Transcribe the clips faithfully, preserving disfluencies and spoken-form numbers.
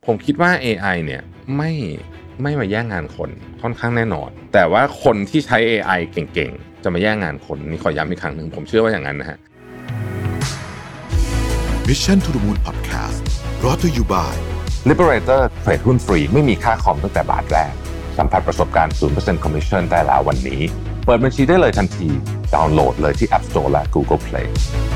ผมคิดว่า เอ ไอ เนี่ยไม่ไม่มาแย่งงานคนค่อนข้างแน่นอนแต่ว่าคนที่ใช้ เอ ไอ เก่งๆจะมาแย่งงานคนนี่ขอย้ำอีกครั้งนึงผมเชื่อว่าอย่างนั้นนะฮะ Mission to the Moon Podcast brought to you by Liberator เทรดหุ้นฟรีไม่มีค่าคอมตั้งแต่บาทแรกสัมผัสประสบการณ์ ศูนย์เปอร์เซ็นต์ Commission ได้แล้ววันนี้เปิดบัญชีได้เลยทันทีดาวน์โหลดเลยที่ App Store และ Google Play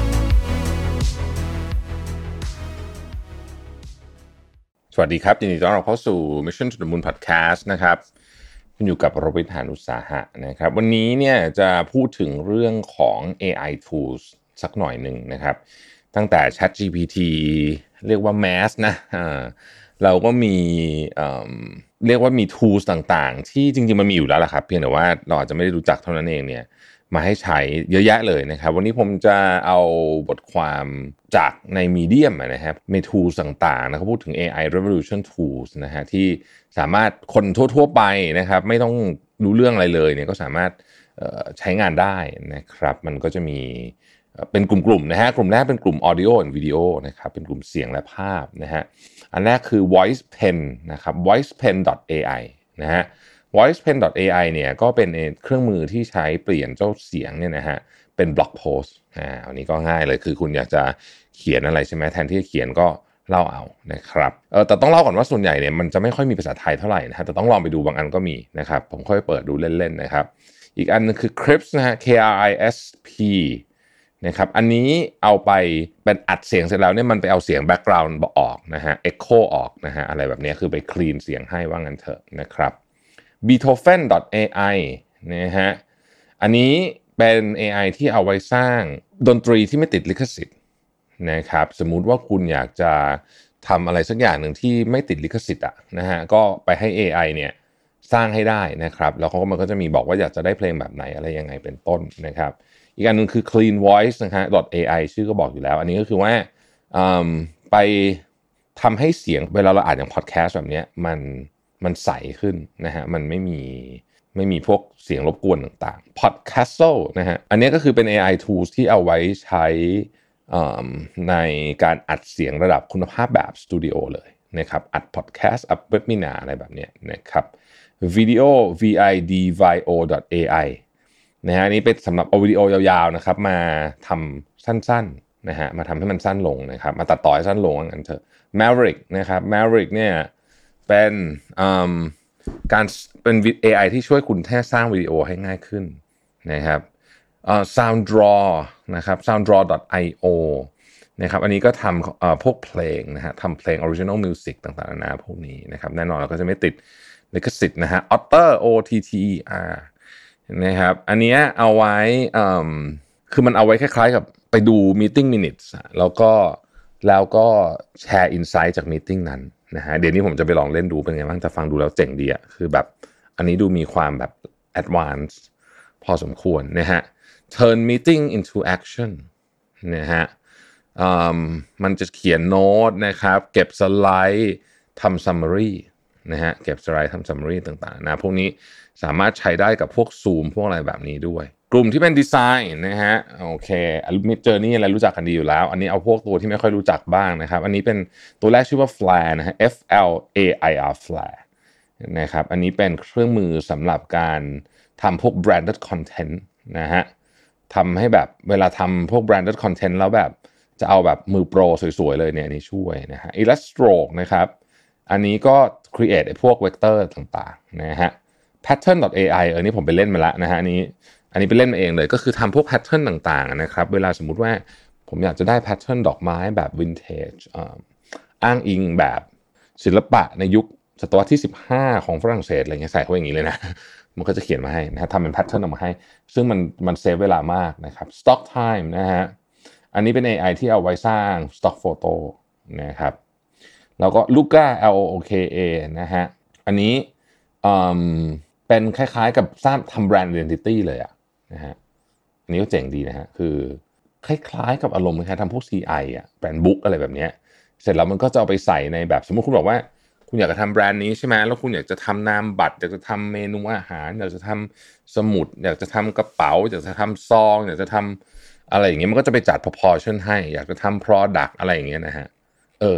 สวัสดีครับยินดีต้อนรับเข้าสู่ Mission to the Moon Podcast นะครับคุณอยู่กับโรบิน หาญอุตสาหะนะครับวันนี้เนี่ยจะพูดถึงเรื่องของ เอ ไอ Tools สักหน่อยหนึ่งนะครับตั้งแต่ ChatGPT เรียกว่า Mass นะเราก็มีเอ่อเรียกว่ามี Tools ต่างๆที่จริงๆมันมีอยู่แล้วล่ะครับเพียงแต่ว่าเราอาจจะไม่ได้รู้จักเท่านั้นเองเนี่ยมาให้ใช้เยอะแยะเลยนะครับวันนี้ผมจะเอาบทความจากใน Medium นะครับมี Tools ต่างๆนะเขาพูดถึง เอ ไอ Revolution Tools นะฮะที่สามารถคนทั่วๆไปนะครับไม่ต้องรู้เรื่องอะไรเลยเนี่ยก็สามารถใช้งานได้นะครับมันก็จะมีเป็นกลุ่มๆนะฮะกลุ่มแรกเป็นกลุ่ม Audio and Video นะครับเป็นกลุ่มเสียงและภาพนะฮะอันแรกคือ voicepen นะครับ voicepen ดอท เอ ไอ นะฮะ voicepen ดอท เอ ไอ เนี่ยก็เป็นเครื่องมือที่ใช้เปลี่ยนเจ้าเสียงเนี่ยนะฮะเป็นบล็อกโพสต์อ่าอันนี้ก็ง่ายเลยคือคุณอยากจะเขียนอะไรใช่ไหมแทนที่จะเขียนก็เล่าเอานะครับเออแต่ต้องเล่าก่อนว่าส่วนใหญ่เนี่ยมันจะไม่ค่อยมีภาษาไทยเท่าไหร่นะฮะแต่ต้องลองไปดูบางอันก็มีนะครับผมค่อยเปิดดูเล่นๆนะครับอีกอันนึงคือ Crisp นะฮะ K R I S P นะครับอันนี้เอาไปเป็นอัดเสียงเสร็จแล้วเนี่ยมันไปเอาเสียงแบ็คกราวด์ออกนะฮะ Echo ออกนะฮะอะไรแบบนี้คือไปคลีนเสียงให้ว่างั้นเถอะนะครับ Beethoven ดอท เอ ไอ นะฮะอันนี้เป็น เอ ไอ ที่เอาไว้สร้างดนตรีที่ไม่ติดลิขสิทธิ์นะครับสมมุติว่าคุณอยากจะทำอะไรสักอย่างหนึ่งที่ไม่ติดลิขสิทธิ์อ่ะนะฮะก็ไปให้ เอ ไอ เนี่ยสร้างให้ได้นะครับแล้วเขาก็มันก็จะมีบอกว่าอยากจะได้เพลงแบบไหนอะไรยังไงเป็นต้นนะครับอีกอันนึงคือ clean voice นะฮะ .ai ชื่อก็บอกอยู่แล้วอันนี้ก็คือว่าไปทำให้เสียงเวลาเราอ่านอย่างพอดแคสต์แบบนี้มันมันใสขึ้นนะฮะมันไม่มีไม่มีพวกเสียงรบกวนต่างๆ Podcastle นะฮะอันนี้ก็คือเป็น เอ ไอ tools ที่เอาไว้ใช้ในการอัดเสียงระดับคุณภาพแบบสตูดิโอเลยนะครับอัดพอดแคสต์อัดเว็บมินาอะไรแบบนี้นะครับ Video วี ไอ ดี วี โอ ดอท เอ ไอ นะฮะนี่เป็นสำหรับเอาวิดีโอยาวๆนะครับมาทำสั้นๆนะฮะมาทำให้มันสั้นลงนะครับมาตัดต่อให้สั้นลงงั้นเถอะ Maverick นะครับ Maverick เนี่ยเป็นการเป็น เอ ไอ ที่ช่วยคุณแค่สร้างวิดีโอให้ง่ายขึ้นนะครับเอ่อ Sounddraw นะครับ sounddraw ดอท ไอ โอ นะครับอันนี้ก็ทำเอ่อพวกเพลงนะฮะทำเพลง original music ต่างๆนานาพวกนี้นะครับแน่นอนเราก็จะไม่ติดลิขสิทธิ์นะฮะ Otter O T T E R นะครับอันนี้เอาไว้คือมันเอาไว้คล้ายๆกับไปดู meeting minutes แล้วก็แล้วก็แชร์ insight จาก meeting นั้นนะฮะเดี๋ยวนี้ผมจะไปลองเล่นดูเป็นไงบ้างจะฟังดูแล้วเจ๋งดีอ่ะคือแบบอันนี้ดูมีความแบบ advanced พอสมควรนะฮะ turn meeting into action นะฮะมันจะเขียนโน้ตนะครับเก็บสไลด์ทำ summary นะฮะเก็บสไลด์ทำ summary ต่างๆนะพวกนี้สามารถใช้ได้กับพวก Zoom พวกอะไรแบบนี้ด้วยกลุ่มที่เป็นดีไซน์นะฮะโอเค Midjourney อะไรรู้จักกันดีอยู่แล้วอันนี้เอาพวกตัวที่ไม่ค่อยรู้จักบ้างนะครับอันนี้เป็นตัวแรกชื่อว่า Flare นะฮะ F L A I R Flare นะครับอันนี้เป็นเครื่องมือสำหรับการทำพวก branded content นะฮะทำให้แบบเวลาทำพวก branded content แล้วแบบจะเอาแบบมือโปรสวยๆเลยเนี่ยอันนี้ช่วยนะฮะ Illustrator นะครับอันนี้ก็ create ไอ้พวก vector ต่างๆนะฮะ pattern ดอท เอ ไอ เออนี่ผมไปเล่นมาแล้วนะฮะอันนี้อันนี้ไปเล่นมาเองเลยก็คือทำพวก pattern ต่างๆนะครับเวลาสมมุติว่าผมอยากจะได้ pattern ดอกไม้แบบ vintage อ้างอิงแบบศิลปะในยุคศตวรรษที่สิบห้าของฝรั่งเศสอะไรเงี้ยใส่เข้าอย่างนี้เลยนะมันก็จะเขียนมาให้นะทำเป็น pattern ออกมาให้ซึ่งมันมันเซฟเวลามากนะครับ stock time นะฮะอันนี้เป็น เอ ไอ ที่เอาไว้สร้าง stock photo นะครับแล้วก็ Luca L O K A นะฮะอันนี้เป็นคล้ายๆกับสร้างทำแบรนด์ identity เลยอะนะฮะอันนี้ก็เจ๋งดีนะฮะคือคล้ายๆกับอารมณ์คล้ายๆทำพวก ซี ไอ อ่ะแบรนด์บุ๊กอะไรแบบนี้เสร็จแล้วมันก็จะเอาไปใส่ในแบบสมมุติคุณบอกว่าคุณอยากจะทำแบรนด์นี้ใช่ไหมแล้วคุณอยากจะทำนามบัตรอยากจะทำเมนูอาหารอยากจะทำสมุดอยากจะทำกระเป๋าอยากจะทำซองอยากจะทำอะไรอย่างเงี้ยมันก็จะไปจัด proportion ให้อยากจะทำ product อะไรอย่างเงี้ยนะฮะเออ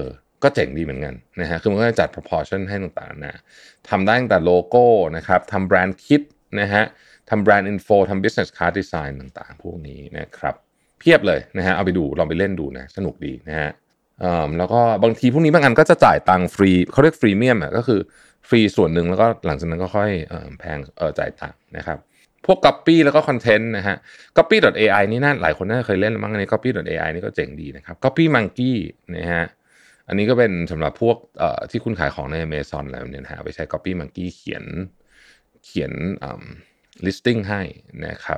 ก็เจ๋งดีเหมือนกันนะฮะคือมันก็จะจัด proportion ให้ต่างๆนะทำได้ตั้งแต่โลโก้นะครับทำแบรนด์คิดนะฮะทำแบรนด์อินโฟทำ business card design ต่างๆพวกนี้นะครับเพียบเลยนะฮะเอาไปดูลองไปเล่นดูนะสนุกดีนะฮะแล้วก็บางทีพวกนี้บางอันก็จะจ่ายตังค์ฟรีเขาเรียกฟรีเมียมอ่ะก็คือฟรีส่วนหนึ่งแล้วก็หลังจากนั้นก็ค่อยแพงเออจ่ายตังค์นะครับพวก copy แล้วก็ content นะฮะ copy.ai นี่น่าหลายคนน่าจะเคยเล่นมั้งอันนี้ copy.ai นี่ก็เจ๋งดีนะครับ copy monkey นะฮะอันนี้ก็เป็นสำหรับพวกเอ่อที่คุณขายของใน Amazon อะไรแบบนี้นะฮะไปใช้ copy monkey เขียนเขียนอ่า listing ให้นะครับ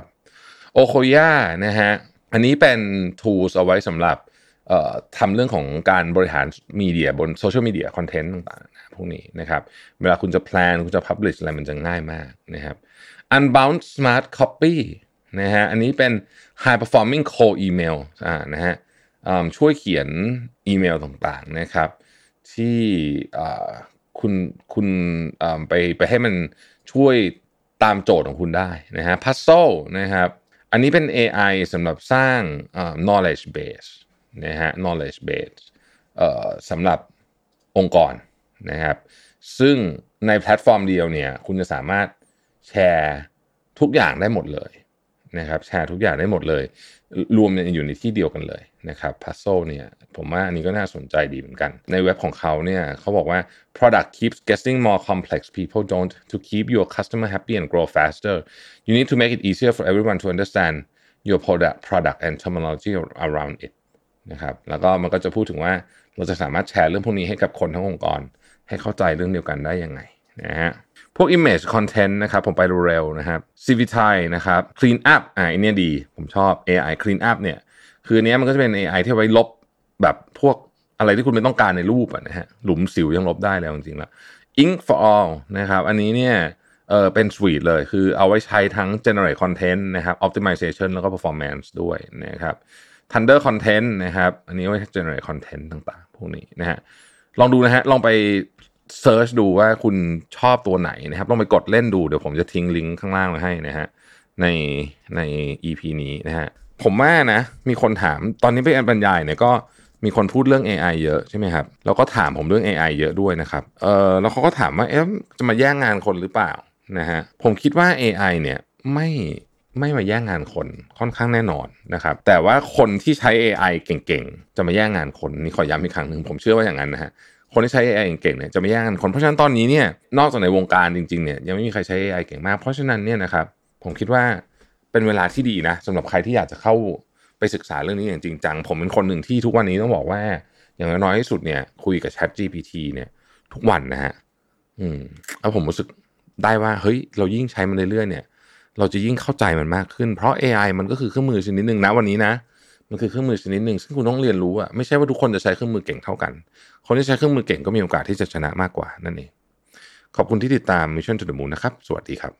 Okoya นะฮะอันนี้เป็น tools เอาไว้สำหรับเอ่อทำเรื่องของการบริหารมีเดียบนโซเชียลมีเดียคอนเทนต์ต่างๆพวกนี้นะครับเวลาคุณจะแพลนคุณจะ publish อะไรมันจะง่ายมากนะครับ Unbound Smart Copy นะฮะอันนี้เป็น High Performing Cold Email อ่านะฮะช่วยเขียนอีเมลต่างๆนะครับที่คุณคุณไปไปให้มันช่วยตามโจทย์ของคุณได้นะฮะ Puzzle นะครับอันนี้เป็น เอ ไอ สำหรับสร้าง knowledge base นะฮะ knowledge base สำหรับองค์กรนะครับซึ่งในแพลตฟอร์มเดียวเนี่ยคุณจะสามารถแชร์ทุกอย่างได้หมดเลยนะครับแชร์ทุกอย่างได้หมดเลยรวมอยู่ในที่เดียวกันเลยนะครับ Puzzle เนี่ยผมว่าอันนี้ก็น่าสนใจดีเหมือนกันในเว็บของเขาเนี่ยเขาบอกว่า product keeps getting more complex people don't to keep your customer happy and grow faster you need to make it easier for everyone to understand your product product and terminology around it นะครับแล้วก็มันก็จะพูดถึงว่าเราจะสามารถแชร์เรื่องพวกนี้ให้กับคนทั้งองค์กรให้เข้าใจเรื่องเดียวกันได้ยังไงนะฮะพวก image content นะครับผมไปเร็วๆนะครับ ซี วี ที นะครับ clean up อ่าอันนี้ดีผมชอบ เอ ไอ clean up เนี่ยคืออันนี้มันก็จะเป็น เอ ไอ ที่ไว้ลบแบบพวกอะไรที่คุณไม่ต้องการในรูปอ่ะนะฮะหลุมสิวยังลบได้แล้วจริงๆแล้ว ink for all นะครับอันนี้เนี่ยเออเป็น suite เลยคือเอาไว้ใช้ทั้ง generate content นะครับ optimization แล้วก็ performance ด้วยนะครับ thunder content นะครับอันนี้ไว้ generate content ต่างๆพวกนี้นะฮะลองดูนะฮะลองไปเซิร์ชดูว่าคุณชอบตัวไหนนะครับลองไปกดเล่นดูเดี๋ยวผมจะทิ้งลิงก์ข้างล่างไว้ให้นะฮะในใน อี พี นี้นะฮะผมว่านะมีคนถามตอนนี้ไปบรรยายเนี่ยก็มีคนพูดเรื่อง เอ ไอ เยอะใช่ไหมครับแล้วก็ถามผมเรื่อง เอ ไอ เยอะด้วยนะครับเออแล้วเขาก็ถามว่าเอ๊ะจะมาแย่งงานคนหรือเปล่านะฮะผมคิดว่า เอ ไอ เนี่ยไม่ไม่มาแย่งงานคนค่อนข้างแน่นอนนะครับแต่ว่าคนที่ใช้ เอ ไอ เก่งๆจะมาแย่งงานคนนี่ขอย้ำอีกครั้งนึงผมเชื่อว่าอย่างนั้นนะฮะคนที่ใช้ เอ ไอ เก่งๆเนี่ยจะไม่แย่งกันคนเพราะฉะนั้นตอนนี้เนี่ยนอกจากในวงการจริงๆเนี่ยยังไม่มีใครใช้ เอ ไอ เก่งมากเพราะฉะนั้นเนี่ยนะครับผมคิดว่าเป็นเวลาที่ดีนะสำหรับใครที่อยากจะเข้าไปศึกษาเรื่องนี้อย่างจริงจังผมเป็นคนหนึ่งที่ทุกวันนี้ต้องบอกว่าอย่างน้อยที่สุดเนี่ยคุยกับ ChatGPT เนี่ยทุกวันนะฮะอืมแล้วผมรู้สึกได้ว่าเฮ้ยเรายิ่งใช้มันเรื่อยๆเนี่ยเราจะยิ่งเข้าใจมันมากขึ้นเพราะ เอ ไอ มันก็คือเครื่องมือชนิดนึงนะวันนี้นะมันคือเครื่องมือชนิดนึงซึ่งคุณต้องเรียนรู้อะไม่ใช่ว่าทุกคนจะใช้เครื่องมือเก่งเท่ากันคนที่ใช้เครื่องมือเก่งก็มีโอกาสที่จะชนะมากกว่านั่นเองขอบคุณที่ติดตาม Mission to the Moon นะครับสวัสดีครับ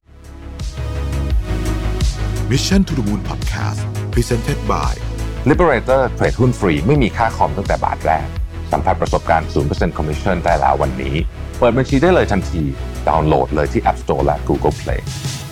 Mission to the Moon Podcast Presented by Liberator เทรดหุ้นฟรีไม่มีค่าคอมตั้งแต่บาทแรกสัมผัสประสบการณ์ ศูนย์เปอร์เซ็นต์ Commission ได้แล้ววันนี้เปิดบัญชีได้เลยทันทีดาวน์โหลดเลยที่ App Store และ Google Play